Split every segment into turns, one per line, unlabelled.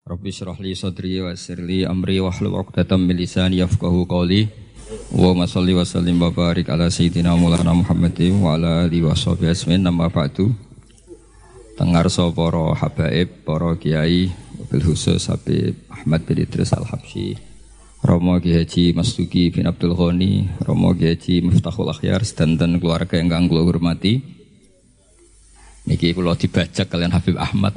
Rabbi shrah li sadri wa yassir li amri wahlul 'uqdatam min lisani yafqahu qawli. Wa shalli wa sallim wa barik ala sayyidina Maulana Muhammadin wa ala alihi washabihi ajmain. Amma ba'du. Tengarsa para habaib, para kiai, bil khusus Habib Ahmad bin Idris Al-Habsyi, Romo Ki Haji Mastuki bin Abdul Ghani, Romo Ki Haji Miftahul Akhyar sedanten keluarga ingkang kula hormati. Niki kula dibajak kalian Habib Ahmad.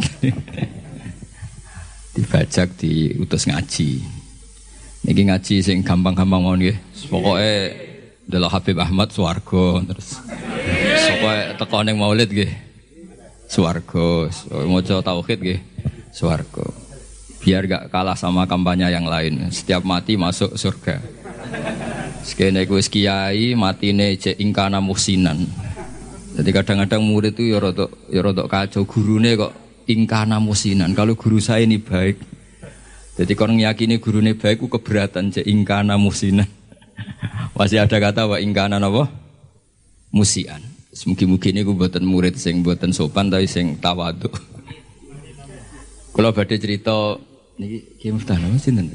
Dibajak diutus ngaji. Niki ngaji sing gampang-gampang mawon nggih. Pokoke delok Habib Ahmad swarga terus. Pokoke teko ning Maulid nggih. Swarga, maca tauhid nggih. Swarga. Biar gak kalah sama kampanye yang lain. Setiap mati masuk surga. Sekene iku wis kiai matine cek ingkana muhsinan. Jadi kadang-kadang murid itu ya rodok kacau, gurune kok ingkana muhsinan. Kalau guru saya ini baik. Jadi kalau ngiyakini gurune baik ku keberatan cek ingkana muhsinan. Masih ada kata wa ingkana napa? Musian. Mugi-mugi niku mboten murid sing mboten sopan tapi sing tawadhu. Kula badhe cerita niki Ki Miftah napa sinten?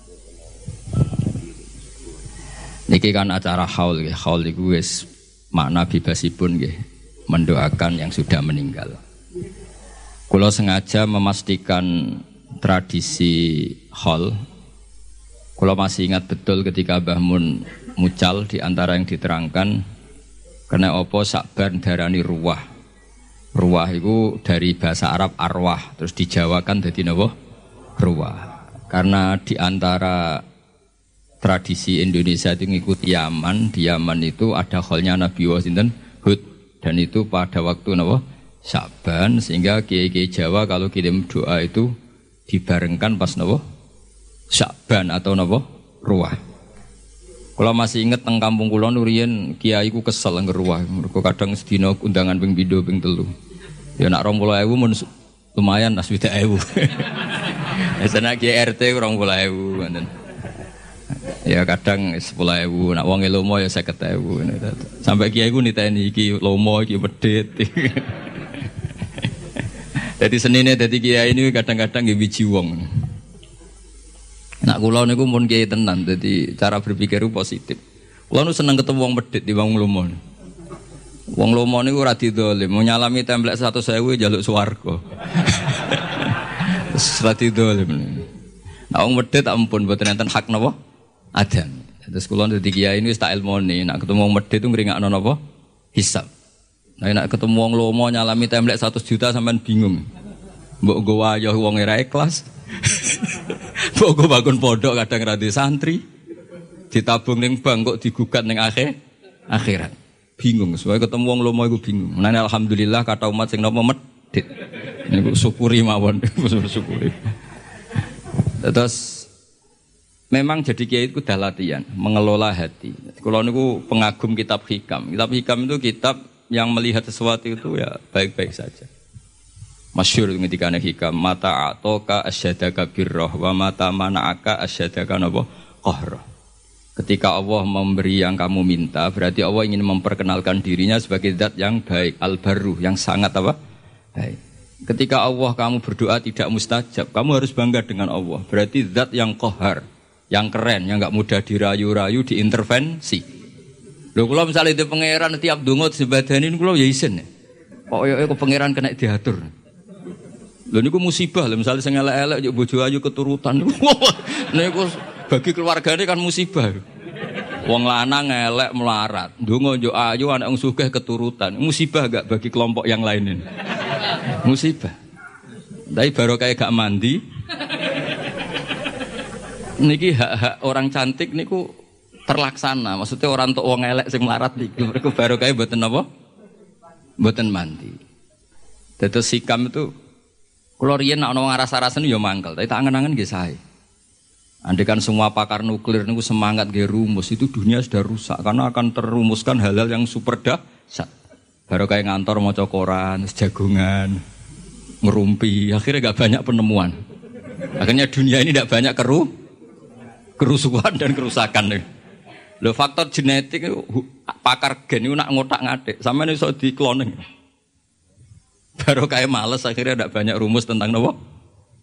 Niki kan acara haul nggih. Haul iku wis makna bebasipun nggih mendoakan yang sudah meninggal. Kula sengaja memastikan tradisi haul. Kula masih ingat betul ketika Mbah Mun mucal di antara yang diterangkan karena apa sakban darani ruwah. Ruwah itu dari bahasa Arab arwah, terus dijawakan dadi napa? Ruwah. Karena di antara tradisi Indonesia itu ngikuti Yaman, di Yaman itu ada kholnya Nabi Sinten Hud, dan itu pada waktu napa? Sya'ban, sehingga kiai-kiai Jawa kalau kirim doa itu dibarengkan pas napa? Sya'ban atau napa? Ruwah. Kalau masih inget teng kampung kula riyen kiai ku kesel ngger ruwah. Mergo kadang sedina undangan ping 2 ping 3. Ya nak 20.000 mun lumayan as 20.000. Esana kiai RT 20.000 ngoten. Ya kadang 10.000, nak wong lomo ya 50.000. Sampai kiai ku niteni iki lomo iki medhit. Jadi senine dadi kiai ini kadang-kadang nggih wiji wong. Nak kula niku mun kiai tenan, dadi cara berpikir ku positif. Kula nu seneng ketemu wong medhit di wong lomo. Wong lomo niku ora didzalim, mau nyalami templek 100.000 njaluk swarga. Ora didzalim. Nak wong medhit ampun mboten enten hak napa? Adan. Terus kula dadi kiai ini wis tak ilmoni, nak ketemu wong medhit itu ngringakno napa? Hisab. Nah nak ketemu wong lomo nyalami templek 100 juta sampean bingung. Mbok nggo wayah wong ora ikhlas. Mbok nggo bangun pondok kadang ra di santri. Ditabung ning bank kok digugat ning akhirat. Bingung, soalnya ketemu wong lomo iku bingung. Menane alhamdulillah kata umat sing napa medhit. Niku syukuri mawon, syukuri. Terus memang jadi kiai itu udah latihan mengelola hati. Kalau niku pengagum kitab hikam. Kitab hikam itu kitab yang melihat sesuatu itu ya baik-baik saja. Masyhur ketika hikam mata atoka asyadaka birrah wa mata mana'aka asyadaka napa qahrah. Ketika Allah memberi yang kamu minta, berarti Allah ingin memperkenalkan dirinya sebagai zat yang baik, al-barru, yang sangat apa? Baik. Ketika Allah kamu berdoa tidak mustajab, kamu harus bangga dengan Allah. Berarti zat yang qahar, yang keren, yang enggak mudah dirayu-rayu, diintervensi. Lho kula misale itu pangeran tiap donga disebadani kula ya isin. Kok yo pangeran kena diatur. Lho niku musibah lho misale sing elek-elek yo bojo ayu keturutan. Niku bagi keluargane kan musibah. Wong lanang elek melarat, ndonga yo ayu anak wong sugih keturutan. Musibah gak bagi kelompok yang lain ini? Musibah. Tapi barokah gak mandi. Niki hak-hak orang cantik niku terlaksana. Maksudnya orang tok wong elek sing melarat niku mergo barokah mboten napa? Mboten mandi. Dados sikam itu kula riyen nek ana wong aras-arasen ya mangkel, tapi tak angen-angen nggih sae. Andaikan semua pakar nuklir niku semangat nggih rumus, itu dunia sudah rusak karena akan terumuskan hal-hal yang super dahsyat. Baru kayak ngantor maca koran, jagongan, ngerumpi, akhirnya gak banyak penemuan. Akhirnya dunia ini tidak banyak kerusuhan dan kerusakan. Lho faktor genetik pakar gen itu nak ngotak-ngatik, sampeyan iso di cloning. Baru kayak males akhirnya tidak banyak rumus tentang nopo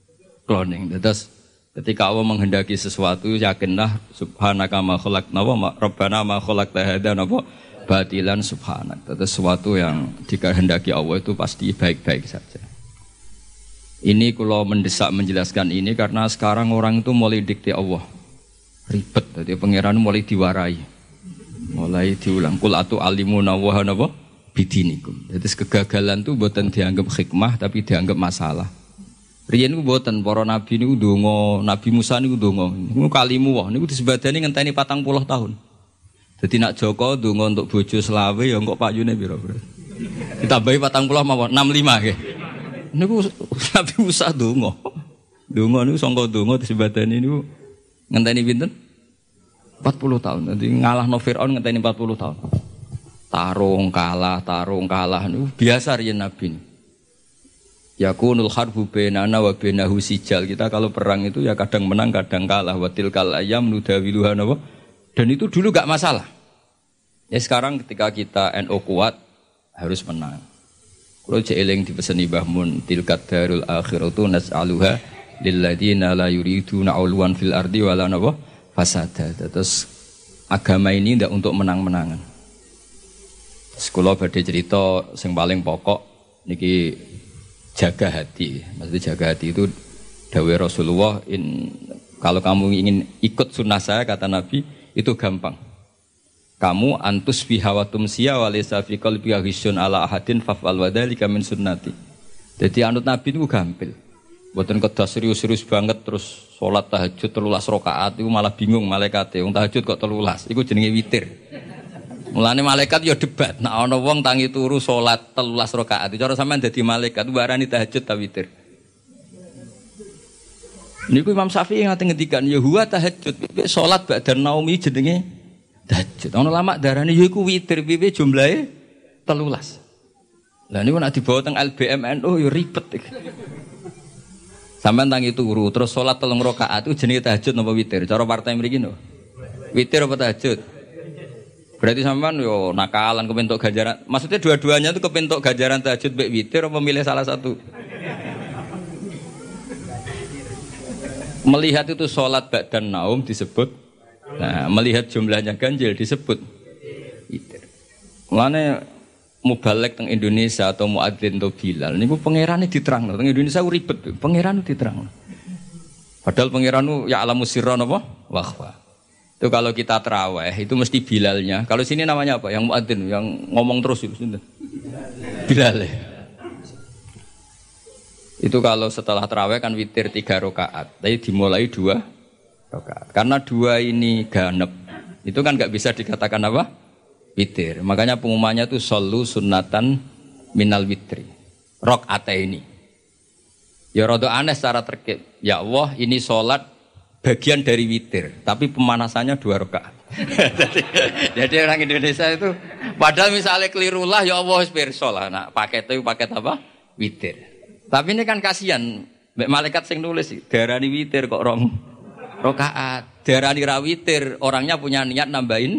cloning. Terus ketika Allah menghendaki sesuatu, yakinlah subhanaka ma khalaqna wa rabbana ma khalaqta hadza napa batilan subhanak. Terus sesuatu yang dikehendaki Allah itu pasti baik-baik saja. Ini kalau mendesak menjelaskan ini karena sekarang orang itu mulai dikte Allah. Ribet, jadi pangeran mulai diwarai. Mulai diulang kul atu alimuna wa napa bidinikum. Jadi kegagalan itu bukan dianggap hikmah tapi dianggap masalah. Riyen niku mboten para nabi niku ndonga, Nabi Musa niku ndonga. Niku kalimu wae niku disebadani ngenteni 40 tahun. Dadi nak Joko ndonga untuk bojo selawe ya kok payune pira, Bro. Ditambahi 40 mawon 65 nggih. Niku Nabi Musa ndonga. Ndonga niku sangka ndonga disebadani niku ngenteni pinten? 40 tahun. Dadi ngalahno Firaun ngenteni 40 tahun. Tarung kalah niku biasa riyen nabi. Yakunul harbu bainana wa bainahu sijal. Kita kalau perang itu ya kadang menang kadang kalah. Wa tilkal ayyam nudawiluha napa. Dan itu dulu enggak masalah. Ya sekarang ketika kita NU kuat harus menang. Kalau jeeling dipeseni Mbah Mun tilkat darul akhiratu nas'aluha lilladzina la yuriduna 'uluwan fil ardi wala napa fasada. Terus agama ini ndak untuk menang-menangan. Sekolah badhe cerita sing paling pokok niki jaga hati. Maksudnya jaga hati itu dawuh Rasulullah kalau kamu ingin ikut sunnah saya kata Nabi itu gampang. Kamu antus fi hawatum siya wa laysa fi qalbika ghisyun ala ahadin fa'al wa dzalika min sunnati. Jadi anut Nabi itu gampil. Mboten kedah serius-serius banget terus salat tahajud 13 rakaat itu malah bingung malaikate. Wong tahajud kok 13. Iku jenenge witir. Mulane malaikat ya debat. Nek ana wong tangi turu salat 13 rakaat, cara sampean dadi malaikat warani tahajud ta witir. Niku Imam Syafi'i ngate ngendikan ya huwa tahajud. Salat ba'da naumi jenenge tahajud. Ana ulama darani ya iku witir piye jumlahe 13. Lah niku nek dibawa teng LBM NU ya ribet iki. Sampeyan tangi turu terus salat 3 rakaat itu jenenge tahajud napa witir? Cara partai mriki no. Witir apa tahajud? Berarti sampean yo nakalan kepentok ganjaran. Maksudnya dua-duanya itu kepentok ganjaran tahajud mbek witir apa milih salah satu? Melihat itu salat ba'dan naum disebut. Nah, melihat jumlahnya ganjil disebut witir. Mulane mubalek teng Indonesia atau muadzin atau Bilal niku pangerane diterangno. Teng Indonesia ribet, pangeran diterangno. Padahal pangeran ya alamus sirra napa? Wa itu kalau kita tarawih itu mesti Bilalnya. Kalau sini namanya apa? Yang muadzin, yang ngomong terus itu. Bilal. Itu kalau setelah tarawih kan witir 3 rakaat. Tapi dimulai 2 rakaat. Karena 2 ini ganep. Itu kan enggak bisa dikatakan apa? Witir. Makanya pengumumannya itu shollu sunnatan minal witri. Rakaataini. Ya rada aneh secara terkait. Ya Allah, ini salat bagian dari witir, tapi pemanasannya 2 rakaat. jadi orang Indonesia itu, padahal misalnya kelirulah, ya Allah pirsa lah. Nah, paket itu paket apa? Witir. Tapi ini kan kasihan, malaikat sing nulis, darani witir kok 2 rakaat. Darani ra witir, orangnya punya niat nambahin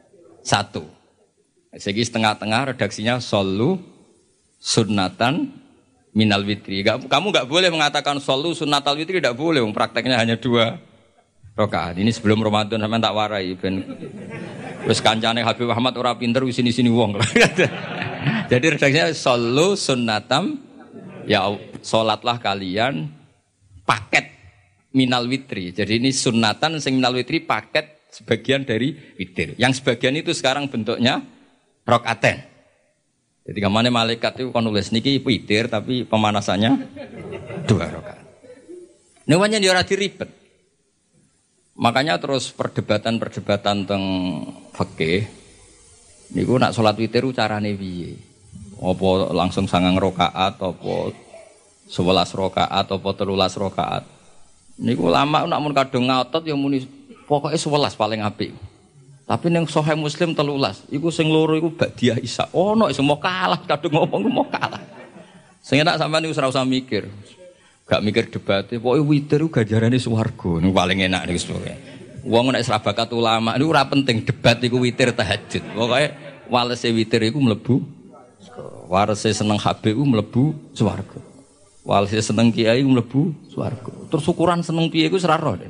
1. Segi setengah-tengah redaksinya shollu sunnatan minal witri. Kamu enggak boleh mengatakan shollu sunnatal witri, tidak boleh. Prakteknya hanya 2 rakaat. Ini sebelum Ramadan sampean tak warai ben wis kancane Habib Ahmad ora pinter wis sini-sini wong. Jadi redaksinya shollu sunnatam ya salatlah kalian paket minal witri. Jadi ini sunnatan sing minal witri paket sebagian dari witir. Yang sebagian itu sekarang bentuknya rakaaten. Jadi kemana malaikat itu kan nulis niki witir tapi pemanasannya 2 rakaat. Namanya dia ora diribet. Makanya terus perdebatan teng fikih niku nak salat witir carane piye? Apa langsung 9 rakaat apa 11 rakaat apa 13 rakaat? Niku lama nak mun kadung ngotot ya muni pokoke 11 paling apik. Tapi ning Sahih Muslim 13, iku sing loro iku ba'diyah Isya. Ono sing mau kalah kadung ngomong mau kalah. Sing enak sampean niku ora usah mikir. Gak mikir debat, pokoknya witir itu ganjarannya swarga. Ini paling enak nih sebenarnya. Wong nek serabakat ulama, ini ora penting debat itu witir tahajud. Pokoknya walese witir itu mlebu, walese seneng HBU mlebu swarga. Walhasil seneng kiai mlebu swarga. Terus ukuran seneng piye iku ora roh.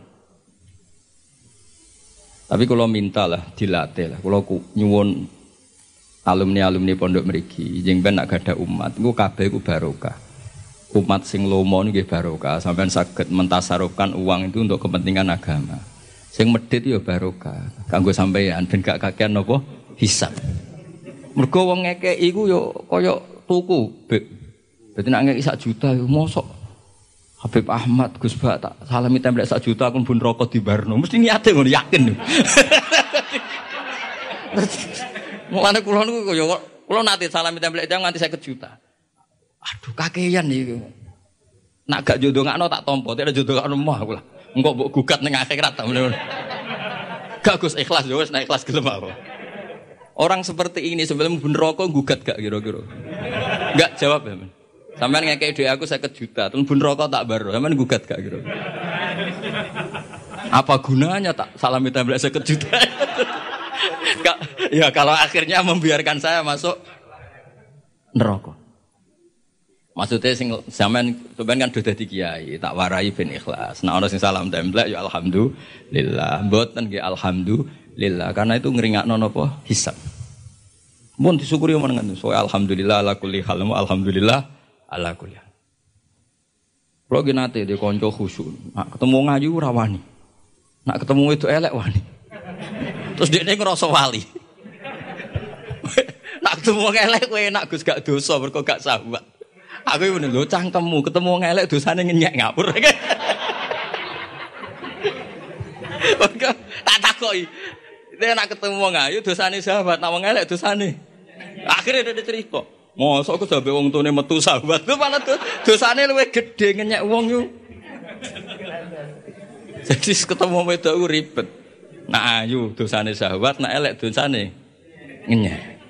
Tapi kalau minta lah dilatih lah. Kalau nyuwun alumni pondok mriki, jeng ben nak gadah umat, iku kabeh iku barokah. Umat sing lomo nggih barokah, sampean saged mentasarufkan uang itu untuk kepentingan agama. Sing medhit ya barokah, kanggo sampeyan ben gak kakean napa hisab. Mergo wong ngekeki iku ya kaya tuku, Beb. Dadi nek ngekeki 1 juta ya mosok Habib Ahmad Gus Bak tak salami templek 1 juta aku pun rokok di Barno. Mesti niate ngono yakin. Mulane kula niku ya kula nate salami templek jam nganti 50 juta. Aduh kakean iki. Nak gak jodongakno tak tampa, tak jodongakno mah aku lah. Engko mbok gugat ning akhirat ta ngono. Gak Gus ikhlas yo wis nek ikhlas gelem apa. Orang seperti ini sebelum pun rokok gugat gak kira-kira. Enggak jawab ya, Men. Sampeyan ngekeki dhuwit aku 50 juta, terus bun rokok tak baro. Sampeyan gugat gak kira. Apa gunanya tak salami templek 50 juta? Ya kalau akhirnya membiarkan saya masuk neraka. Maksudnya sing sampean kan sudah dadi kiai, tak warai ben ikhlas. Nah ana sing salam templek ya alhamdulillah. Mboten nggih alhamdulillah karena itu ngringakno napa hisab. Mun disyukuri menengan so alhamdulillah ala kulli hal alhamdulillah ala kulli hal. Kulo ki nate di kanca khusyuk. Nak ketemu ngayu ora wani. Nak ketemu itu elek wani. Terus dekne ngrasa wali. Nak ketemu elek kowe enak Gus gak dosa mergo gak sahabat. Aku iki lho cangkemmu ketemu elek dosane ngenyek ngapur. Tak takoki. Nek nak ketemu wong ayu dosane sahabat, nak wong elek dosane. Akhirnya dia cerita. Mosok aku sampe wong tune metu sahabat. Ku malah dosane luwih gedhe ngenyek wong yo. Jadi ketemu wedok ku ribet. Nak ayu dosane sahabat, nak elek dosane ngenyek.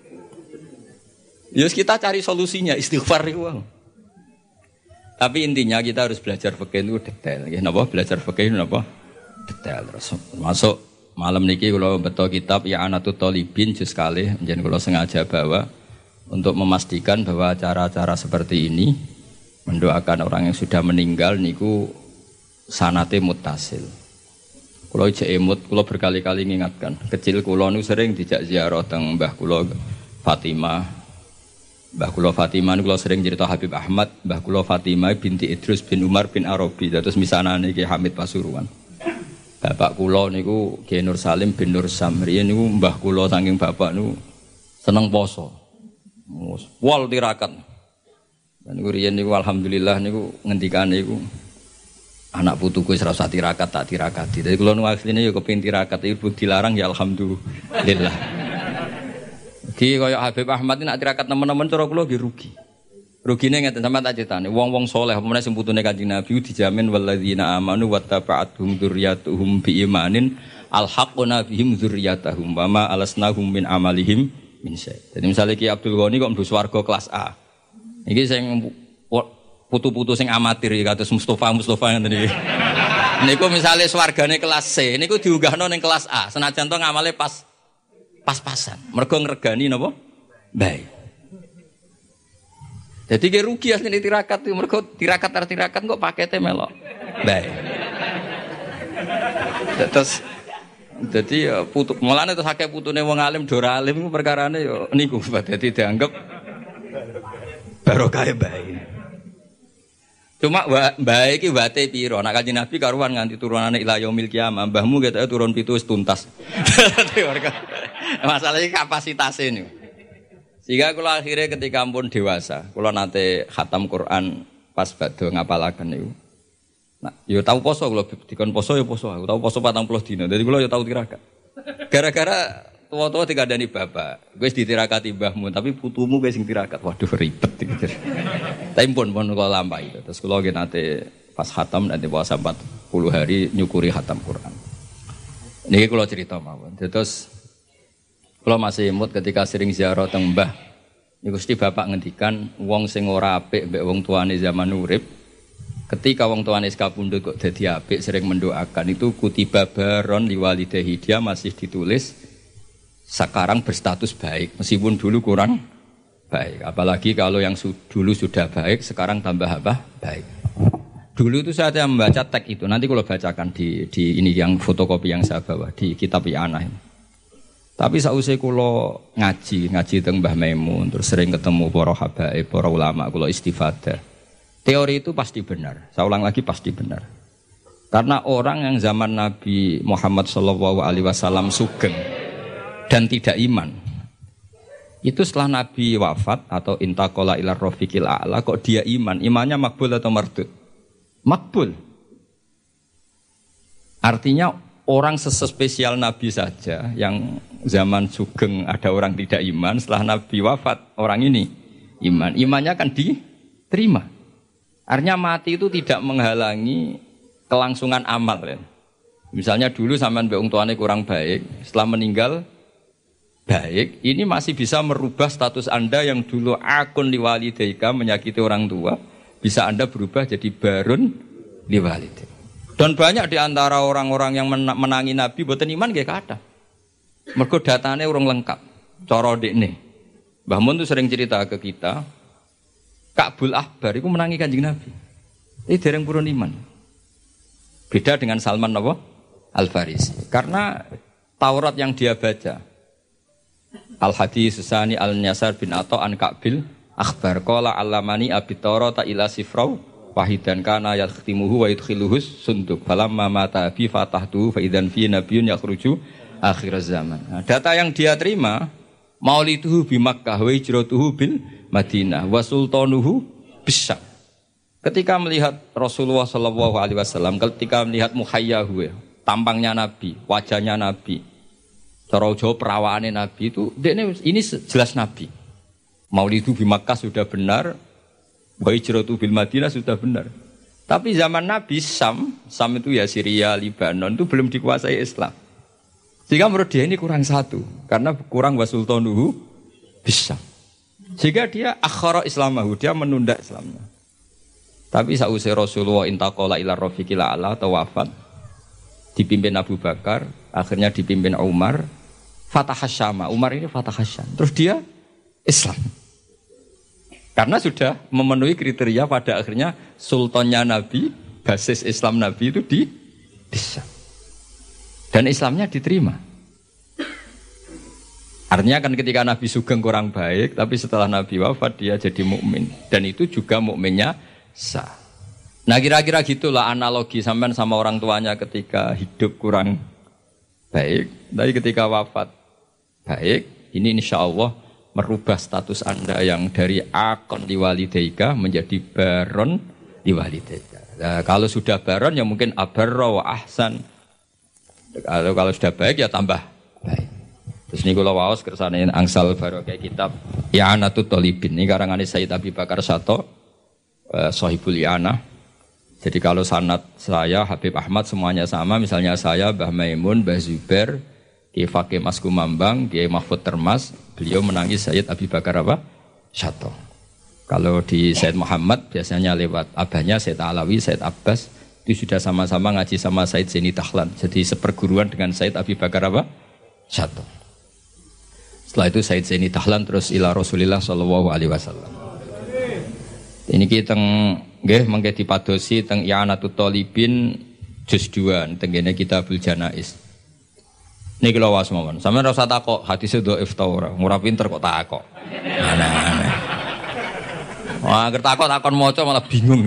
Yus kita cari solusinya istighfar itu. Tapi intinya kita harus belajar fikih itu detail. Ya, napa belajar fikih itu napa detail terus. Masuk malam niki kalau betul kitab ya Anatut Thalibin juz kalih njen kula sengaja bawa untuk memastikan bahwa cara-cara seperti ini mendoakan orang yang sudah meninggal niku sanate muttasil. Kula ijek emut, kula berkali-kali ngingatkan. Kecil kula nu sering dijak ziarah teng Mbah kula Fatimah. Mbah kula Fatimah niku sering cerita Habib Ahmad, Mbah kula Fatimah binti Idrus bin Umar bin Arabi, terus misanane Ki Hamid Pasuruan. Bapak kula niku Ki Nur Salim bin Nur Samri niku mbah kula saking bapak niku seneng poso. Wal tirakat. Dan niku riyen niku alhamdulillah niku ngendikane niku anak putuku wis ora usah tirakat tak tirakati. Dadi kula niku asline ya kepengin tirakat ibu dilarang ya alhamdulillah. Ki kaya Habib Ahmad ini nak tirakat teman-teman cara kula nggih rugi. Rugine ngeten sampean tak critani, wong-wong saleh apa meneh sing putune Kanjeng Nabi dijamin walladzina amanu wattaba'atuhum dzurriyyatuhum biimanin alhaqna bihim dzurriyyatahum wa ma alasnahum min amalihim min syai'. Jadi misalnya Ki Abdul Ghani kok mlebu swarga kelas A. Iki sing putu-putu sing amatir ya kados Mustofa ngene iki. Niku misale swargane kelas C, niku diunggahno ning kelas A. Senajan to ngamale pas-pasan. Mergo ngregani napa? Baik. Jadi dia rugi asli tirakat itu, mereka tirakat kok paketnya melok. Baik. Terus, jadi putu, mulanya terus haknya putune wong alim, dora alim itu perkaranya ya niku, jadi dianggap barokah baik. Cuma baik itu wate piro, nak Kanjeng Nabi karuan nganti turunane ila yaumil qiyamah, mbahmu gitu turun pitu wis tuntas. Masalahnya kapasitasnya ini. Sehingga kalau akhirnya ketika pun dewasa, kalau nanti khatam Quran pas badhe ngapalaken niku. Nah, yo tahu poso kalau dikon poso yo poso, aku tahu poso 40 dina. Jadi kalau yo tahu tirakat. Gara-gara tua-tua dikandani bapak, wis ditirakati mbahmu, tapi putumu wis sing tirakat. Waduh ribet iki. Tapi pun kula lampahi. Terus kula nggih nate pas khatam nanti puasa 40 hari nyukuri khatam Quran. Niki kula cerita mawon. Terus kalau masih imut ketika sering ziarah teng mbah, niku Gusti bapak ngendikan wong sing ora apik mbek wong tuane zaman urip, ketika wong tuane kapundhut kok dadi apik sering mendoakan itu kutiba baron liwalidahi, dia masih ditulis sekarang berstatus baik meskipun dulu kurang baik. Apalagi kalau yang dulu sudah baik, sekarang tambah apa? Baik. Dulu itu saya membaca teks itu. Nanti kalau bacakan di ini yang fotokopi yang saya bawa di kitab I'anah ini. Tapi sausé kula ngaji teng Mbah Maimun, terus sering ketemu para habaib, para ulama, kula istifadah. Teori itu pasti benar. Saya ulang lagi pasti benar. Karena orang yang zaman Nabi Muhammad SAW sugeng dan tidak iman, itu setelah Nabi wafat atau intaqala ila rafiqil a'la kok dia iman, imannya makbul atau mardud? Makbul. Artinya orang sespesial Nabi saja yang zaman sugeng ada orang tidak iman, setelah Nabi wafat orang ini iman, imannya akan diterima. Artinya mati itu tidak menghalangi kelangsungan amal ya. Misalnya dulu sampean mbek wong tuane kurang baik, setelah meninggal baik, ini masih bisa merubah status Anda yang dulu akun liwalidaika menyakiti orang tua, bisa Anda berubah jadi barun liwalidaika. Dan banyak di antara orang-orang yang menangi Nabi boten iman nggih kathah. Mergo datane urung lengkap. Cara dekne. Mbah Mun tuh sering cerita ke kita, Ka'bul Ahbar iku menangi Kanjeng Nabi. Ini dereng purun iman. Beda dengan Salman Al-Farisi. Karena Taurat yang dia baca, Al-Hadis Susani Al-Nyasar bin Atta an Ka'bil Akhbar qala allamani abi Taurata ila sifrau wahidan kana yakhtimuhu wa yudkhiluhus sunduk falamma mata bi fatahtu fa idzan fi nabiyyun yakhruju akhir zaman. Nah, data yang dia terima mauliduhu bi Makkah wa hijratuhu bil Madinah wa sultanuhu bisyam. Ketika melihat Rasulullah SAW, ketika melihat muhayyahu, tampangnya Nabi, wajahnya Nabi, cara Jawa perawaannya Nabi itu, ini jelas Nabi. Maulidu di Makkah sudah benar, wa hijratu bil Madinah sudah benar. Tapi zaman Nabi Sam itu ya Syria, Libanon itu belum dikuasai Islam. Sehingga menurut dia ini kurang satu, karena kurang wasultanuhu bisa. Sehingga dia akhara Islamahu, dia menunda Islamnya. Tapi sausai Rasulullah intaqala ila rafiqil a'la atau wafat, dipimpin Abu Bakar, akhirnya dipimpin Umar, Fatahasyama, Umar ini Fatahasyam. Terus dia Islam. Karena sudah memenuhi kriteria pada akhirnya sultannya Nabi, basis Islam Nabi itu di Syam. Dan Islamnya diterima. Artinya kan ketika Nabi sugeng kurang baik, tapi setelah Nabi wafat dia jadi mukmin. Dan itu juga mukminnya sah. Nah kira-kira gitulah analogi sampean sama orang tuanya ketika hidup kurang baik, tapi ketika wafat baik. Ini insya Allah merubah status Anda yang dari akon liwalidaika menjadi baron liwalidaika. Nah, kalau sudah baron ya mungkin abarra wa ahsan. Kalau sudah baik ya tambah baik. Terus ini kalau waos kersane angsal barokah kitab I'anatul Thalibin. Ini karangan Sayyid Abi Bakar Sato. Sohibul I'anah. Jadi kalau sanad saya Habib Ahmad semuanya sama, misalnya saya Mbah Maimun, Mbah Zubair, Kiai Fakih Mas Kumambang, Kiai Mahfud Termas, beliau menangis Sayyid Abi Bakar Sato. Kalau di Sayyid Muhammad biasanya lewat abahnya Sayyid Alawi, Sayyid Abbas, itu sudah sama-sama ngaji sama Sayyid Zaini Dahlan. Jadi seperguruan dengan Sayyid Abi Bakar Sato. Setelah itu Sayyid Zaini Dahlan terus ila Rasulillah sallallahu alaihi wasallam. Ini kita nggih mengke dipadosi teng I'anatul Thalibin juz 2 teng kene Kitabul Janaiz. Niki lho wae mawon. Sampeyan ora usah takok hadise dhaif ta ora. Ora pinter kok takok. Aneh-aneh. Wah, ger takon maca malah bingung.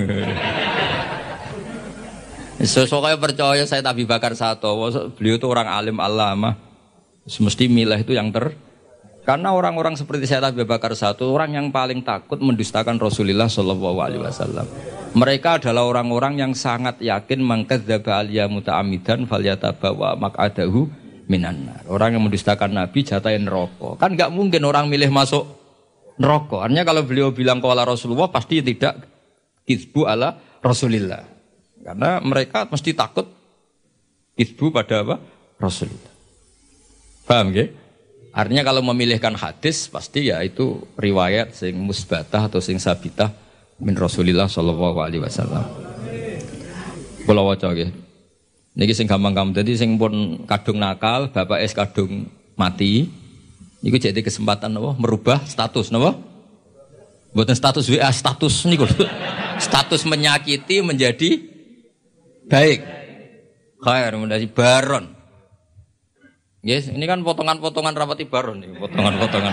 Sesuk percaya saya Abi Bakar Sato, beliau itu orang alim alama. Semesti milih itu yang karena orang-orang seperti saya Abi Bakar Sato, orang yang paling takut mendustakan Rasulullah SAW. Mereka adalah orang-orang yang sangat yakin mangkadzdzaba aliyya muta'ammidan falyatabawa maq'adahu minan nar. Orang yang mendustakan Nabi jatahin neraka. Kan enggak mungkin orang milih masuk neraka. Artinya kalau beliau bilang qala Rasulullah pasti tidak kizbu ala Rasulillah. Karena mereka mesti takut kizbu pada apa? Rasulullah. Paham nggih? Artinya kalau memilihkan hadis pasti ya itu riwayat sing musbatah atau sing sabitah min Rasulillah sallallahu alaihi wasallam. Kula waca nggih. Niki sing gampang-gampang dadi sing pun kadung nakal, bapak es kadung mati. Niku jadi kesempatan napa merubah status napa? Mboten status WA, status niku. Status menyakiti menjadi baik. Khair menjadi baron. Yes, ini kan potongan-potongan rapati baron nih, potongan-potongan.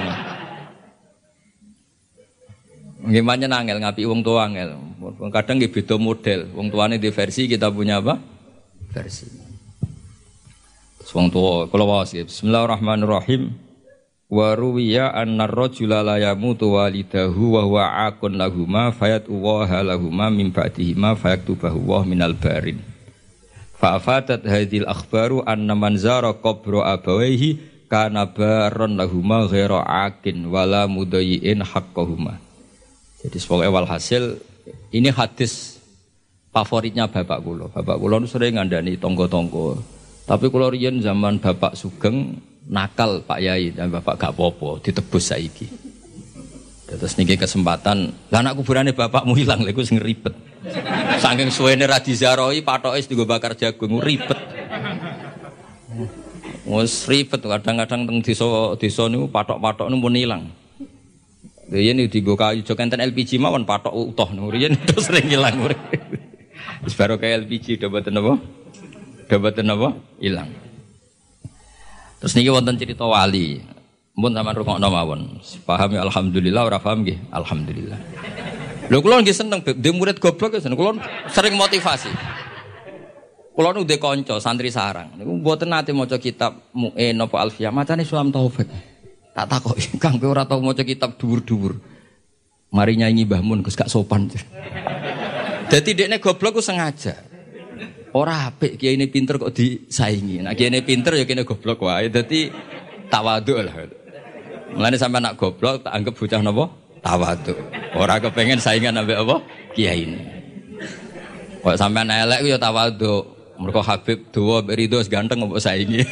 Gimana nangel ngapi wong tua angel. Kadang nggih beda model. Wong tuane di versi, kita punya apa? Versi. Wong tua kula waos nggih. Bismillahirrahmanirrahim. Wa ruwiya anna ar-rajula la yamutu walidahu wa huwa aqun lahumā fayat'uwaha lahumā min ba'dihima fayaktubahu wa minal barin. Fa afadat hadhil akhbaru anna man zara qabra abawayhi kana baron lahumā ghaira aqin wala mudayyin haqqahuma. Jadi sebagai walhasil ini hadis favoritnya bapak kula. Bapak kula nu sering ngandani tonggo-tonggo. Tapi kula riyen zaman bapak sugeng nakal Pak Yai dan bapak gak apa-apa ditebus saiki. Terus niki kesempatan, lah anak kuburane bapakmu ilang lha iku sing ribet. Saking suwene ra dizarohi patoke digo bakar jagung ribet. Wes ribet kadang-kadang teng desa niku patok-patok niku pun ilang. Riyen digo kayu jok enten LPG mawon patok utuh niku riyen terus sering ilang. Wis baru kayak LPG dapaten apa? Dapaten apa? Ilang. Terus niki wonten cerita wali. Mun sampean rungokno mawon. Paham ya alhamdulillah, ora paham nggih alhamdulillah. Lho kula nggih seneng dhe murid goblok ya seneng. Kula sering motivasi. Kula nu dhe kanca santri sarang. Niku mboten nate maca kitab Mu'in apa Alfiyah, macane Sulam Taufik. Tak takoki, Kang kowe ora tau maca kitab dhuwur-dhuwur. Mari nyanyi Mbah Mun Gus gak sopan. Dadi dekne goblok ku sengaja. Ora apik kiai ini pinter kok disaingi. Nek kiai ini pinter ya kene goblok wae. Dadi tawadhu lah. Mulane sampean nak goblok tak anggap bocah napa? Tawadhu. Ora kepengin saingan ambek apa? Kiai ini. Kok sampean elek ku ya tawadhu. Mergo Habib dawa mbek Ridho ganteng mbok saingi.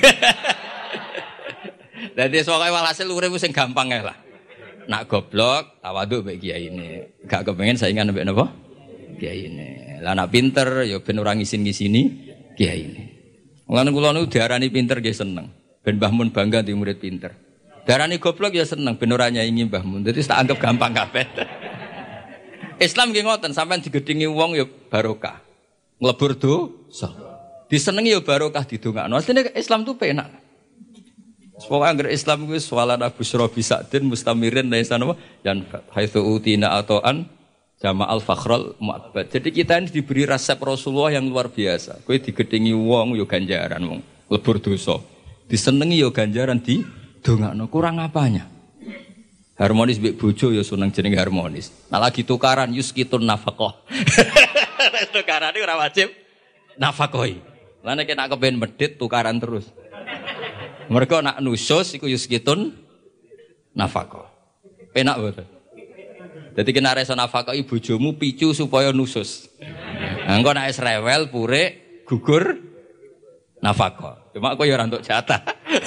Dadi soalé walhasil urip sing gampang ae lah. Nak goblok tawadhu mbek kiai ini. Gak kepengin saingan ambek napa? Kiai ini. Lah anak pinter ya ben ora ngisin-ngisini kiai ini. Mulane kula niku diarani pinter nggih seneng. Ben Mbah Mun bangga di murid pinter. Diarani goblok ya seneng ben ora nyaingi Mbah Mun. Dadi tak anggap gampang kabeh. Islam nggih ngoten, sampean digedhingi wong ya barokah. Nglebur dosa. Disenengi ya barokah didongakno. Asline Islam tuh penak. Pokoke anggere Islam kuwi swalana busra bisadin mustamirin laisa napa yan haitsu utina atoan Jama'al Fakhrul Mu'abbad. Jadi kita ini diberi resep Rasulullah yang luar biasa. Kowe digedhingi wong yo ganjaran wong lebur dosa. Disenengi yo ganjaran di dongakno. Kurang apanya? Harmonis mbek bojo yo seneng jeneng harmonis. Nah lagi tukaran yuskitun nafaqah. Tukaran iki ora wajib nafaqoi. Lah nek nak kepen medhit tukaran terus. Mergo nak nusus iku yuskitun nafaqah. Penak boten? Jadi kena reso nafkah ibu bojomu picu supaya nusus. Engko nek wis rewel purik gugur nafkah. Cuma kok ya ora entuk jatah.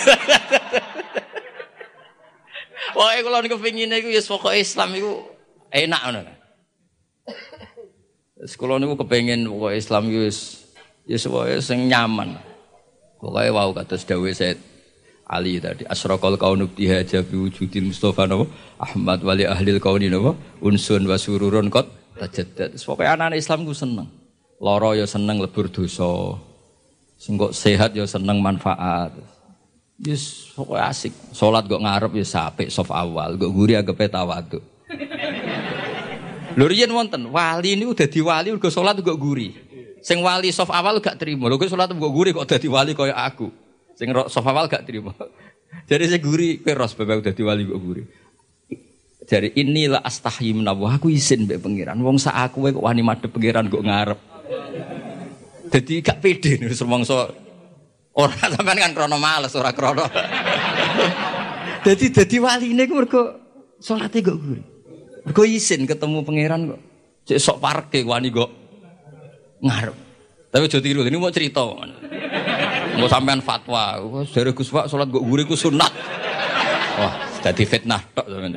Pokoke kula niku pengine iku ya pokoke Islam iku enak ngono. Wis kula niku kepengin pokoke Islam iku wis ya pokoke sing nyaman. Pokoke wau kados dawuh Said Ali tadi asraqal kaunu bihaja bi wujudil Mustafa napa Ahmad wali ahlil kauni napa unsun wa sururun qad tajaddad. Pokoke anak Islam ku seneng. Lara ya seneng lebur dosa. Sing kok sehat ya seneng manfaat. Yes pokoke asik. Salat kok ngarep ya apik saf awal, kok guri anggepe tawadhu. Lho riyen wonten wali niku dadi wali mergo salat kok guri. Sing wali saf awal gak trimo. Lho kok salat kok guri kok dadi wali kaya aku. Sing sofa wal gak terima. Jadi saya guri, kowe ros bapak udah diwali kok guri. Jadi inilah astahyi menawa aku izin mbek pangeran. Wong sak aku kok wani madhep pangeran kok ngarep. Jadi gak pede nih semongso ora sampean kan krono males ora krono. Jadi waline ku mergo salate kok guri. Mergo izin ketemu pangeran kok. Cek sok parke wani kok ngarep. Tapi aja tiru ini mau cerita. Mau sampean fatwa, dari Gus Pak salat kok guri ku sunat. Wah, dadi fitnah tok sampean.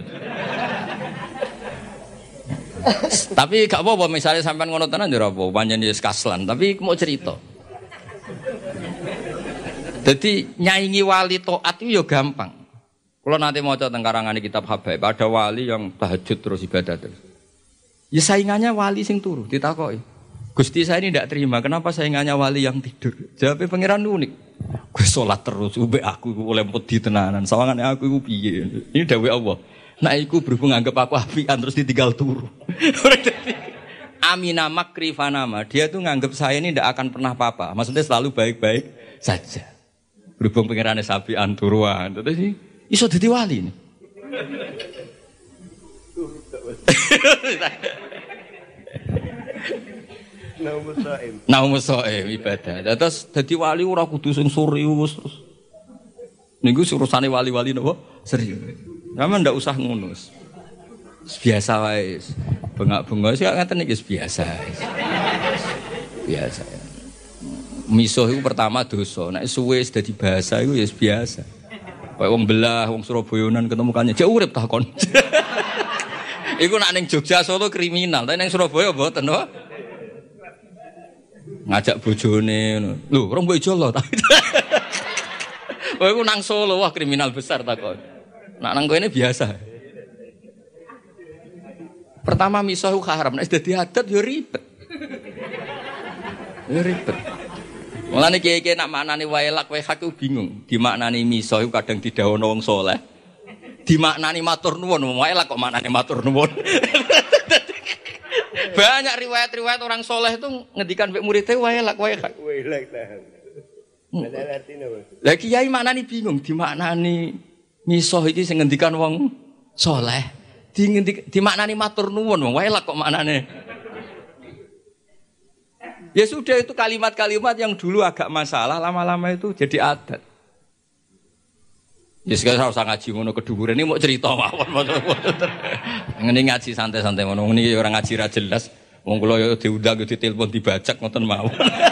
Tapi gak apa-apa misalnya sampean ngono tenan ya ora apa, pancen wis kaslan, tapi mau cerita. Jadi nyaingi wali taat itu ya gampang. Kalau nanti mau coba karangan kitab Habaib, ada wali yang tahajud terus ibadah terus. Ya saingannya wali sing turu, ditakoki. Gusti saya ini tidak terima, kenapa saingannya wali yang tidur? Jawabnya pangeran unik. Gue sholat terus, ube aku oleh pedi tenanan, sawangan aku iku piye. Ini dawuh Allah. Nah iku berhubung anggap aku apian terus ditinggal turu. Amina makri fanama, dia tuh nganggap saya ini tidak akan pernah apa-apa. Maksudnya selalu baik-baik saja. Berhubung pangerannya sapian turuan, terus sih. Iso dadi wali nih. Naumus so'im ibadah. Terus dadi wali ora kudu sing serius terus. Niku urusane wali-wali napa? Serius. Sampeyan ndak usah ngono. Biasa wae. Bengak-bengok sik ngaten iki biasa. Biasa. Misuh iku pertama dosa. Nek suwe dadi bahasa iku ya biasa. Kayak wong belah, wong Surabayanan ketemu kanjeng, jek urip takon. Iku nak ning Jogja Solo kriminal, tapi ning Surabaya mboten, no? Ngajak bojone ngono. Lho, rong mbok ijo lho. Oh, iku nang Solo wah kriminal besar takon. Nak nang kene biasa. Pertama misah haram, nek dadi adat yo ribet. Ya ribet. Mulane kiye-kiye nak maknani wailak wae hak bingung. Dimaknani misah iku kadang didhawuhna wong saleh. Dimaknani matur nuwun, wailak kok maknane matur nuwun. Banyak riwayat-riwayat orang saleh itu ngendikan mek muridé wailak wae hak. Wailak tahan. Ada artine, Bos. Lah kiai maknani bingung, dimaknani misah iki sing ngendikan wong saleh. Dimaknani matur nuwun, wailak kok maknane. Ya sudah itu kalimat-kalimat yang dulu agak masalah, lama-lama itu jadi adat. Ya sekarang usah ngaji ngono keduburan ini mau cerita mawon. Ngene ngaji santai-santai ngono niki orang ngaji ra jelas. Wong kula yo diundang yo ditelepon dibajak ngoten mawon.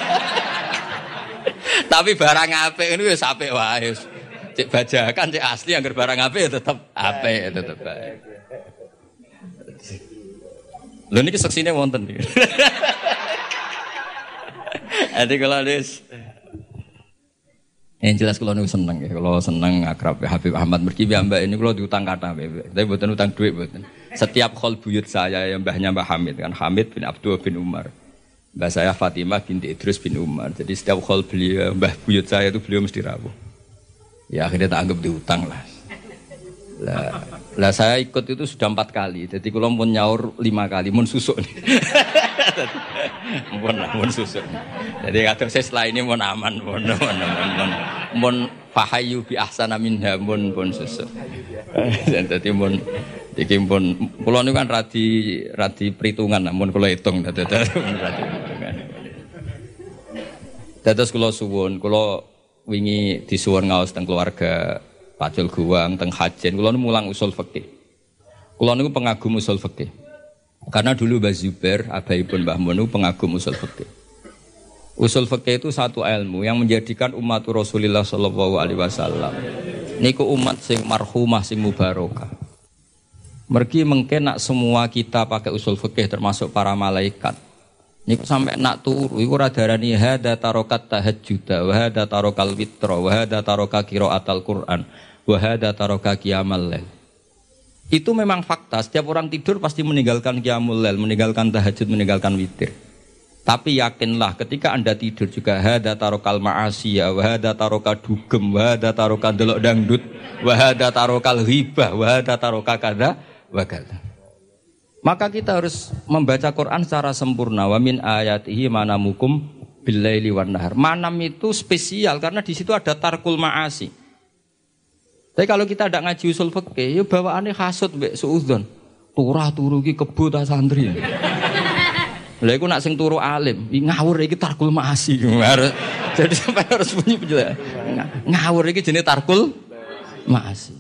Tapi barang apik niku wis apik wae. Cek bajakan cek asli anggar barang apik ya tetep apik, tetep baik. Lho niki seksine wonten iki. Ati kalau des, yang jelas kalau nu seneng ya, kalau seneng akrab Habib Ahmad Merki mbak ini kalau diutang kata, tapi bukan utang duit bukan. Setiap khol buyut saya yang mbahnya Mbah Hamid kan, Hamid bin Abdul bin Umar, mbah saya Fatimah binti Idrus bin Umar. Jadi setiap khol beliau mbah buyut saya itu beliau mesti rawuh. Ya akhirnya tak anggap diutang lah. Lah saya ikut itu sudah 4 kali. Jadi kalau mau nyaur 5 kali, mau susuk nih. Mun susuk. Jadi kadang saya setelah ini mau aman, mun fahayu bi ahsana minha mun susuk. Jadi mun iki mun kula niku kan radi perhitungan, mun kula hitung dadi perhitungan. Dados kula suwun, kula wingi disuwun ngaos teng keluarga Pacul Guwang teng Hajen, kula mulang usul fikih. Kula niku pengagum usul fikih. Karena dulu Mbah Zubair, abaipun Mbah Mun pengagum usul fikih. Usul fikih itu satu ilmu yang menjadikan umat Rasulullah sallallahu alaihi wasallam niku umat sing marhumah sing mubarakah. Mergi mengke nak semua kita pakai usul fikih termasuk para malaikat. Niku sampai nak turu iku ora darani hada tarokat tahajjud wa hada tarokal witra wa hada taroka qiraatal Quran wa hada taroka qiyamal lail. Itu memang fakta, setiap orang tidur pasti meninggalkan qiyamul lail, meninggalkan tahajud, meninggalkan witir. Tapi yakinlah ketika Anda tidur juga hada tarokal ma'asiyah wa hada taroka dugem wa hada taroka delok dangdut wa hada tarokal ghibah wa hada taroka kada wa kada. Maka kita harus membaca Quran secara sempurna. Wa min ayatihi manamukum billaili wan nahar. Manam itu spesial karena di situ ada tarkul ma'asi. Tapi kalau kita tidak ngaji usul fikih, ya bawaannya hasud mbek suudzon. Turah turu iki kebo ta santri. Lha iku nak sing turu alim, ngawur iki tarkul ma'asi. Jadi sampai harus bunyi penjelasan. Ngawur iki jenenge tarkul ma'asi.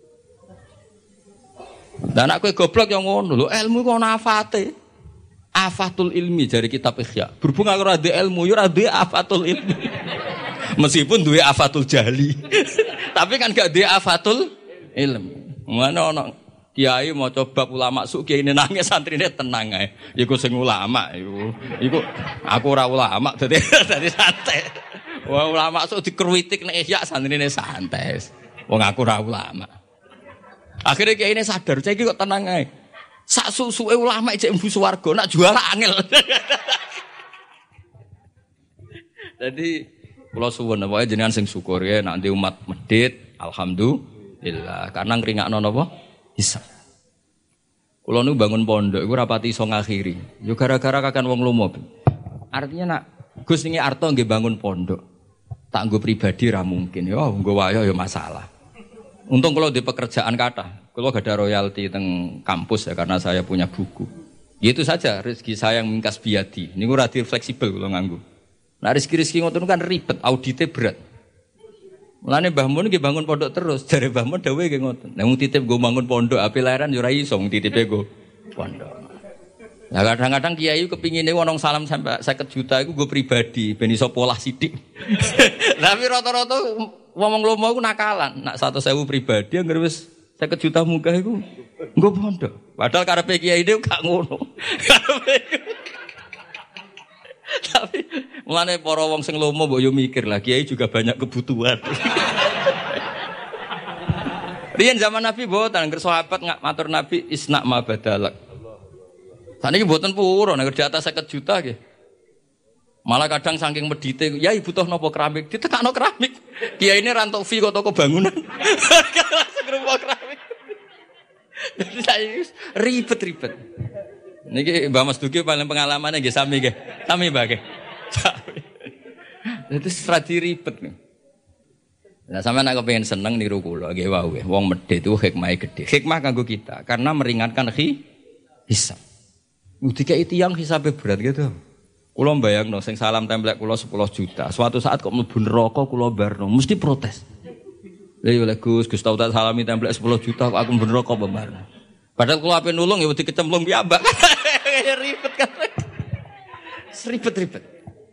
Dan aku goblok yang ngono lho, ilmu kok ana afate. Afatul ilmi dari kitab Ihya. Berhubung aku ora ndek ilmu, yo ora duwe afatul ilmi. Meskipun duwe afatul jahli. Tapi kan gak duwe afatul ilmi. Mana ana kiai maca bab ulama suk kiai nangis santrine tenang ae. Iku sing ulama iku aku ora ulama dadi santai. Wah ulama suk dikruwitik nek Ihya santrine santai. Wong aku ora ulama. Akhirnya kiai ini sadar, saya kok tenang aja. Sak susuke ulama cek mlebu swarga, nak juara angel. Jadi kula suwun pokoke jenengan sing syukur ya nanti umat medhit, alhamdulillah. Karena ngringakno napa? Hisab. Kula nu bangun pondok iku rapati iso ngakhiri. Yo gara-gara kakan wong lomo. Artinya nak Gus ningi arto nggih bangun pondok. Tak nggo pribadi ra mungkin. Yo nggo wayo yo masalah. Untung kalau di pekerjaan kata, kalau gak ada royalti teng kampus ya karena saya punya buku. Ya itu saja rezeki saya yang mingkas biadi. Ini gue relatif fleksibel kalau nganggu. Nah rezeki ngoten kan ribet, auditnya berat. Mulane Mbah Mun nggih bangun pondok terus, jare Mbah Mun dawuhe nggih ngoten. Nek wong titip gue bangun pondok, ape lahiran yo ora iso wong titipe gue pondok. Nah kadang-kadang kiai kepingine wong salam sampai 50 juta iku gue pribadi ben iso polah sithik. Tapi rata-rata wong lomo iku nakalan, nak 100.000 pribadi anggere wis 50 juta munggah iku nggo pondok. Padahal karepe kiai dhewe gak ngono. Tapi mulane para wong sing lomo mbok yo mikir lah, kiai juga banyak kebutuhan. Riyen zaman Nabi mboten, ngger sahabat matur Nabi isna ma badalak. Saniki mboten purun, nek di atas 50 juta nggih. Malah kadang saking medite, ya ibu toh nopo keramik, ditekakno keramik. Kiai ini rantok fee kok toko bangunan. Langsung rumah keramik. Jadi saya ribet-ribet. Niki Mbak Mas Duki paling pengalamannya nggih sami nggih. Sami Mbak nggih. Sami. Itu stradi ribet nih. Nah, sampeyan nek pengen seneng niru kula nggih wae. Wong medhit itu hikmahe gedhe. Hikmah kanggo kita karena meringankan hisab. Dikai tiyang hisabe berat gitu. Kula mbayangno sing salam templek kula 10 juta. Suatu saat kok mlebu neraka kula barno, mesti protes. Lha yo Gus tau tak salami templek 10 juta kok aku mlebu neraka barno. Padahal kula ape nulung ya wedi kecemplung piyambak. Ribet kan. Ribet.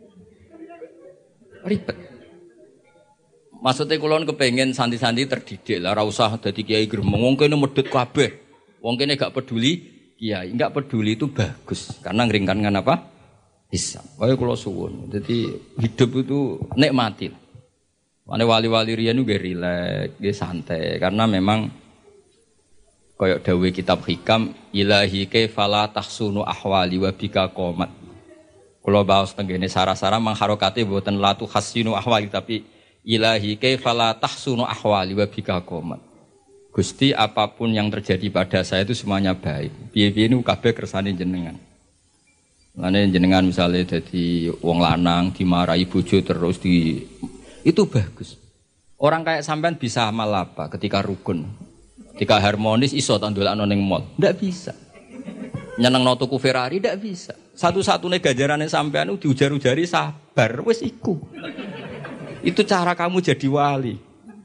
Ribet. Maksudnya kula kepengin santi-santi terdidik lah, ora usah dadi kiai gremeng. Wong kene medhit kabeh. Wong kene gak peduli kiai, enggak peduli itu bagus karena ngringkankan apa? Hisab. Kaya kula suwun. Jadi hidup itu nikmati. Mane wali-wali riyen nggih rileks, nggih santai karena memang kaya dawuh kitab hikam ilahi kaifala tahsunu ahwali wa bika qomat. Kula baos tengene sarah-sarah mangharokate mboten latu hasinu ahwali tapi ilahi kaifala tahsunu ahwali wa bika qomat. Gusti apapun yang terjadi pada saya itu semuanya baik. Piye-piye niku kabeh kersane jenengan. Lane jenengan misalnya jadi wong lanang dimarahi bojo terus itu bagus. Orang kayak sampean bisa amal apa ketika rukun, ketika harmonis iso tandolakno ning mall? Ndak bisa. Nyenengno tuku Ferrari ndak bisa. Satu-satunya ganjarane sampean diujar-ujari sabar wis iku. Itu cara kamu jadi wali.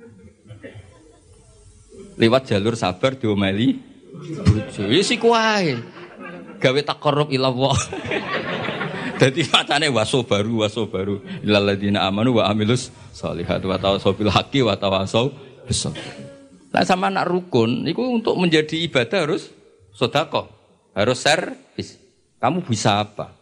Lewat jalur sabar diomeli bojo. Wis iku wae. Gawe taqarrub ila Allah. Dadi macane waso baru ilal ladina amanu wa amilus sholihat wa tawassaw bil haqqi wa tawassaw bis sabr. Lah sama nak rukun niku untuk menjadi ibadah harus sedekah, harus servis. Kamu bisa apa?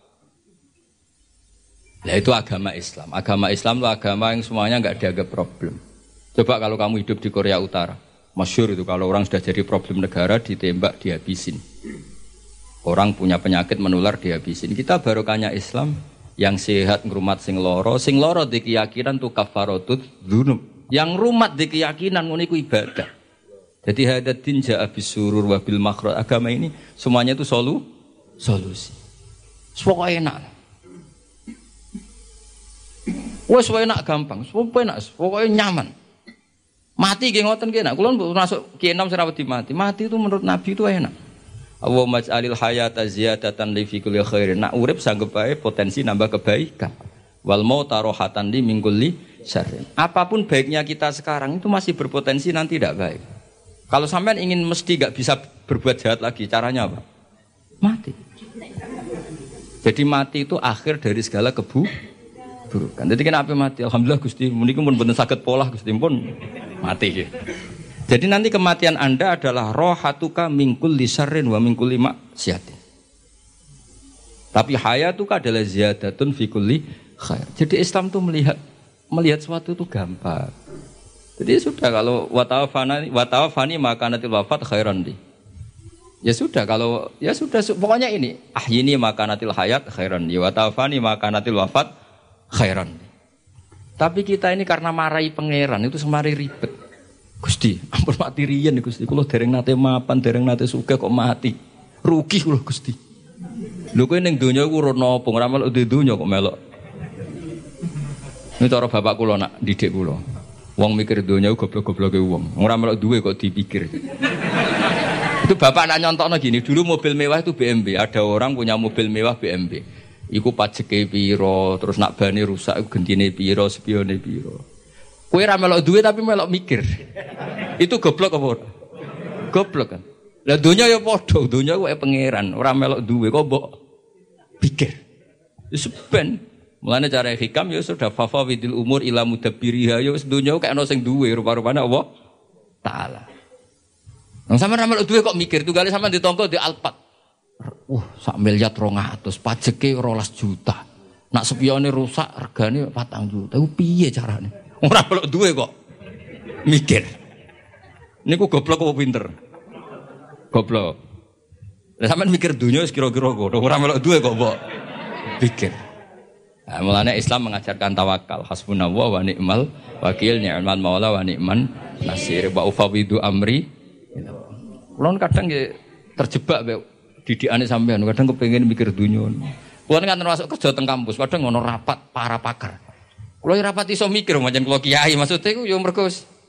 Lah itu agama Islam. Agama Islam itu agama yang semuanya enggak dianggap problem. Coba kalau kamu hidup di Korea Utara, masyhur itu kalau orang sudah jadi problem negara ditembak dihabisin. Orang punya penyakit menular dihabisin. Kita barokahnya Islam yang sehat ngrumat sing loro di keyakinan tu kafaratut dzunub. Yang rumat di keyakinan ngono iku ibadah. Jadi hadatin ja'a bisurur wa bil makhraj. Agama ini semuanya itu solusi. Pokoke enak. Wes enak gampang, pokoke nyaman. Mati nggih ngoten nggih nak. Kula masuk Ki Enom serawati mati. Mati itu menurut Nabi itu enak. Allahumma ij'alil hayata ziyadatan li fi kulli khairin. Nak urip sanggep bae potensi nambah kebaikan. Wal mauta rohatan li min kulli syarrin. Apapun baiknya kita sekarang itu masih berpotensi nanti tidak baik. Kalau sampean ingin mesti enggak bisa berbuat jahat lagi, caranya apa? Mati. Jadi mati itu akhir dari segala keburukan. Jadi kenapa mati? Alhamdulillah Gusti, menika pun mboten saged polah Gusti pun mati. Jadi nanti kematian Anda adalah rohatuka mingkul lisarrin wa mingkul maksiatin. Tapi hayatuka adalah ziyadatun fi kulli khair. Jadi Islam itu melihat sesuatu itu gampang. Jadi sudah kalau watawafani makanatil wafat khairan di. Ya sudah kalau ya sudah pokoknya ini ahyini makanatil hayat khairan di watawafani makanatil wafat khairan di. Tapi kita ini karena marahi pangeran itu semari ribet. Gusti, ampun mati riyen Gusti. Kula dereng nate mapan, dereng nate sugih kok mati. Rugi kula Gusti. Lho kowe ning donya iku ora napa, ora melok di donya kok melok. Ini cara bapak kula nak didik kula. Wong mikir donya goblok-gobloke wong. Ora melok duwe kok dipikir. Itu bapak nak nyontokno gini, dulu mobil mewah itu BMW. Ada orang punya mobil mewah BMW. Iku pajeke piro, terus nak bane rusak iku gentine piro, spione piro. Kowe ora melok duwe tapi melok mikir. Itu goblok apa ora? Goblok kan. Lah donya ya padha, donya kuwi pangeran, ora melok duwe kok mbok pikir. Wis ben. Mulane cara hikam ya sudah fafawidil umur ila mudabbiriha ya wis donya kok ana sing duwe rupa-rupane Allah taala. Nang sampean ora melok duwe kok mikir, tunggale sampean ditongko di Alphard. Sak miliar 200, pajeke 12 juta. Nak spione rusak regane 4 juta. Iku piye carane? Ora melok duwe kok mikir. Niku goblok apa pinter? Goblok. Lah sampean mikir dunia wis kira-kira kok ora melok duwe kok mbok pikir. Nah, mulane Islam mengajarkan tawakal, hasbunallah wa ni'mal wakil, ni'mal maula wa ni'man nasir, wa ufawidu amri. Kulo kadang nggih terjebak mek didikane sampean, kadang kepengin mikir dunia. Kulo kan termasuk kerja teng kampus, kadang ngono rapat para pakar. Kulo rapat iso mikir pancen kulo kiai, maksudnya iku yo mergo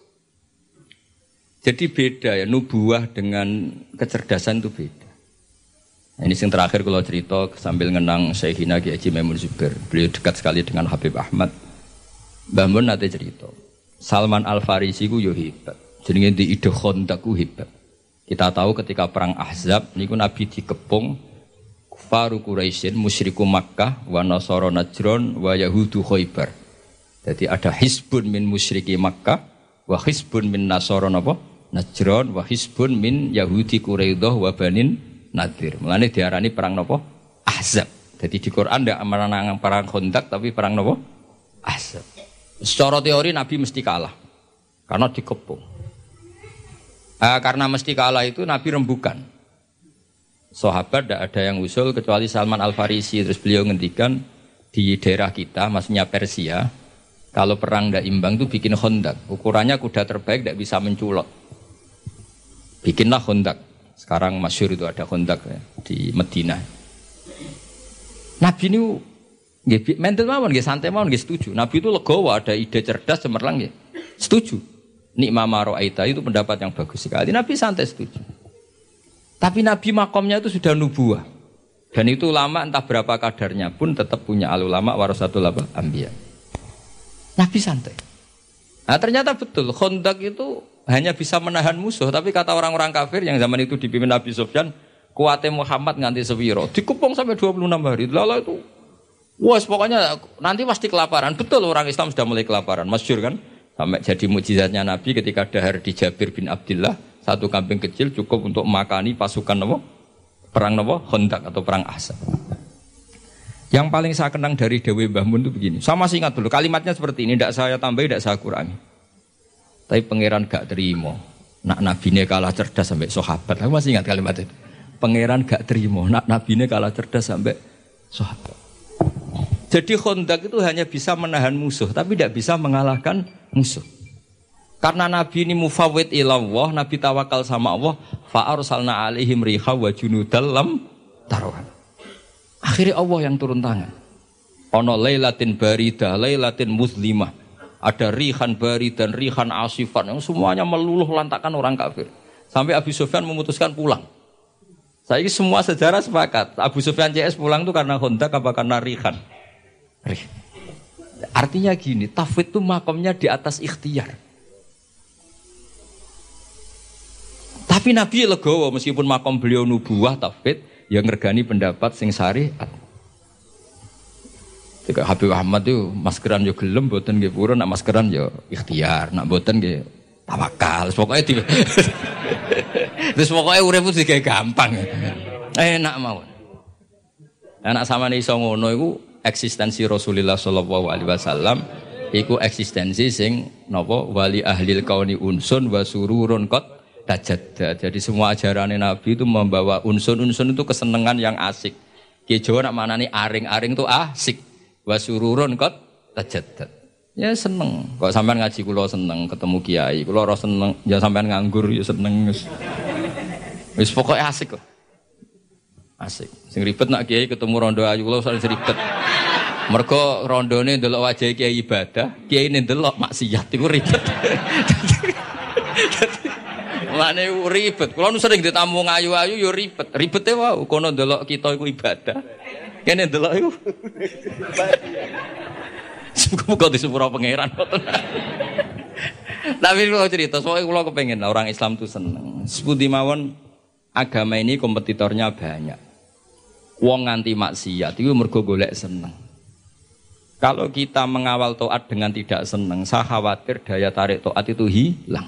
jadi beda ya, nubuah dengan kecerdasan itu beda. Nah, ini yang terakhir kalau cerita sambil ngenang Syekhina Ki Haji Maimun Zubair. Beliau dekat sekali dengan Habib Ahmad. Mbah Mun nate cerita, Salman Al-Farisi ku yo hebat. Jenenge di ide Khandaq ku hebat. Kita tahu ketika perang Ahzab niku Nabi dikepung kufaru Quraisyin, musyriku Makkah, wa nasara Najran, wa yahudu Khaybar. Jadi ada hisbun min musyriki Makkah, wa hisbun min nasara napa? Najran, wa hisbun min yahudi Quraidah wa banin Nadir. Mulane diarani perang napa? Ahzab. Jadi di Quran ndak menang perang Khandaq tapi perang napa? Ahzab. Secara teori Nabi mesti kalah. Karena dikepung. Karena mesti kalah itu Nabi rembukan. Sahabat ndak ada yang usul kecuali Salman Al-Farisi. Terus beliau ngendikan di daerah kita, maksudnya Persia, kalau perang ndak imbang itu bikin Khandaq. Ukurannya kuda terbaik ndak bisa menculot. Bikinlah Khandaq. Sekarang masyhur itu ada Khandaq ya, di Madinah. Nabi ini mental mawon nggih, santai mawon nggih setuju. Nabi itu legowo, ada ide cerdas cemerlang nggih. Setuju. Nikma ma ra'aita itu pendapat yang bagus sekali. Nabi santai setuju. Tapi Nabi makomnya itu sudah nubuah. Dan itu ulama entah berapa kadarnya pun tetap punya al-ulama warasatul anbiya. Nabi santai. Nah ternyata betul Khandaq itu hanya bisa menahan musuh, tapi kata orang-orang kafir yang zaman itu dipimpin Nabi Sufyan, kuatnya Muhammad nganti sewiro, dikepung sampai 26 hari. Lalu itu, wah pokoknya nanti pasti kelaparan. Betul orang Islam sudah mulai kelaparan, masyhur kan? Sampai jadi mukjizatnya Nabi ketika dahar di Jabir bin Abdullah, satu kambing kecil cukup untuk makani pasukan perang Khandaq atau perang Ahzab. Yang paling saya kenang dari Dewi Mbah Mun itu begini. Saya masih ingat dulu kalimatnya seperti ini, tidak saya tambahi, tidak saya kurangi. Tapi pangeran gak terima. Nak nabine kalah cerdas sampai sahabat. Aku masih ingat kalimat itu. Pangeran gak terima. Nak nabine kalah cerdas sampai sahabat. Jadi Khandaq itu hanya bisa menahan musuh, tapi tidak bisa mengalahkan musuh. Karena Nabi ini mufawwid ilallah, Nabi tawakal sama Allah, fa arsalna alaihim riha wa junudal lam tarawha. Akhirnya Allah yang turun tangan. Ono lailatin baridah, lailatin muslimah. Ada rihan bari dan rihan asifan yang semuanya meluluh lantakan orang kafir. Sampai Abu Sufyan memutuskan pulang. Saya ini semua sejarah sepakat. Abu Sufyan CS pulang itu karena Khandaq apa karena rihan? Artinya gini, tafwid itu makomnya di atas ikhtiar. Tapi Nabi legowo meskipun makom beliau nubuah tafwid yang ngergani pendapat sing syariat. Jika Habib Ahmad itu maskeran yo gelem, boten nggih purun, nak maskeran yo ikhtiar, nak boten nggih tawakal. Pokoknya terus pokoknya urip itu juga gampang. Enak mawon. Anak samane iso ngono iku eksistensi Rasulullah sallallahu alaihi wasallam Iku eksistensi sing napa wali ahlil kauni unsun wa sururun qad tajadda. Jadi semua ajaran Nabi itu membawa unsun-unsun itu kesenangan yang asik. Ki Jawa nak manani aring-aring itu asik. Wa sururun qad tajadda. Ya seneng. Kok sampean ngaji kula seneng, ketemu kiai kula ora seneng, ya sampean nganggur ya seneng. Wis pokoke asik kok. Asik. Sing ribet nak kiai ketemu rondo ayu kula usah ribet. Mergo rondone ndelok wajah kiai ibadah, kiai ndelok maksiat iku ribet. Mane ribet. Kula nu sering ditamu ayu-ayu ya ribet. Ribete wae kono ndelok kita iku ibadah. Kene ndelok iku. Semoga disepuro pangeran. Tapi kalau cerita, soalnya kalau kepengen orang Islam itu seneng. Sepundi mawon agama ini kompetitornya banyak. Wong nganti maksiat itu mergo golek seneng. Kalau kita mengawal taat dengan tidak seneng, saya khawatir daya tarik taat itu hilang.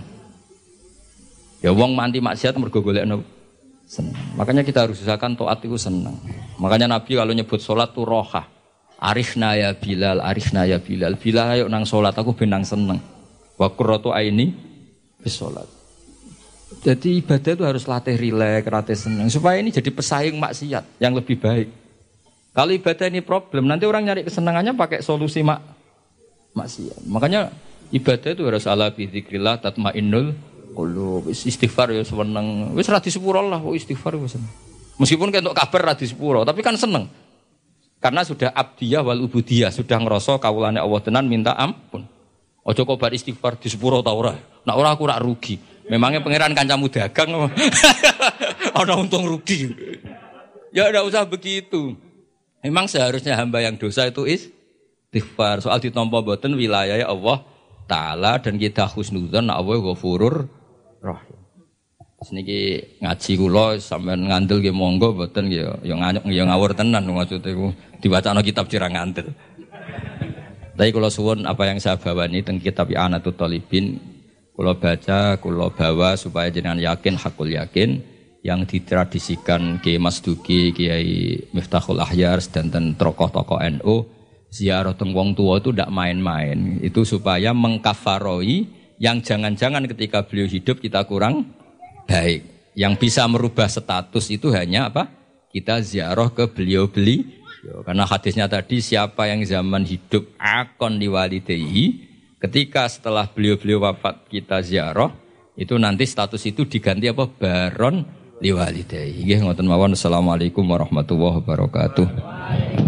Ya wong nganti maksiat mergo golek seneng. Makanya kita harus usahakan taat itu seneng. Makanya Nabi kalau nyebut salat tuh roha. Arifna ya Bilal, arifna ya Bilal. Bilal ayo nang salat aku ben nang seneng. Wa qurratu aini bis salat. Jadi ibadah itu harus latih rileks, latih senang supaya ini jadi pesaing maksiat yang lebih baik. Kalau ibadah ini problem, nanti orang nyari kesenangannya pakai solusi maksiat. Makanya ibadah itu harus ala bi dzikrillah tatmainnul qulub. Istighfar ya seneng. Wis ra disepuro lah kok istighfar wis. Meskipun kentuk kabar ra disepuro, tapi kan seneng. Karena sudah abdiyah wal ubudiyah, sudah ngerasa kawulane Allah tenan minta ampun. Ojo kok bar istighfar disepuro ta ora. Nek ora aku rak rugi. Memangnya pangeran kancamu dagang ana untung rugi. Ya enggak usah begitu. Memang seharusnya hamba yang dosa itu istighfar. Soal ditampa mboten wilayah Allah taala dan kita husnudzon nek Allah Ghafurur Rahim. Niki ngaji kula sampean ngandel nggih monggo mboten nggih ya ngawur tenan maksud iku diwacana kitab cirang ngandel. Tapi kula suwun apa yang saya bawa ini teng kitab I'anatul Thalibin kula baca, kula bawa supaya jenengan yakin hakul yakin yang ditradisikan Kiai Mas Duki, Kiai Miftahul Ahyar dan tokoh-tokoh NU ziarah teng wong tua itu ndak main-main. Itu supaya mengkafaroi yang jangan-jangan ketika beliau hidup kita kurang baik. Yang bisa merubah status itu hanya apa? Kita ziarah ke beliau-beliau. Karena hadisnya tadi siapa yang zaman hidup akon liwalidayhi, ketika setelah beliau-beliau wafat kita ziarah, itu nanti status itu diganti apa? Baron liwalidayhi. Nggih ngoten mawon. Assalamualaikum warahmatullahi wabarakatuh.